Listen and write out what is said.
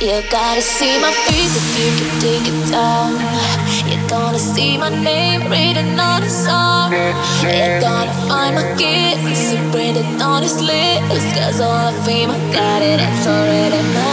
You gotta see my face if you can take it down. You're gonna see my name written on a song. You're gonna find my kiss written on his lips. 'Cause all the fame I got it, it's already mine.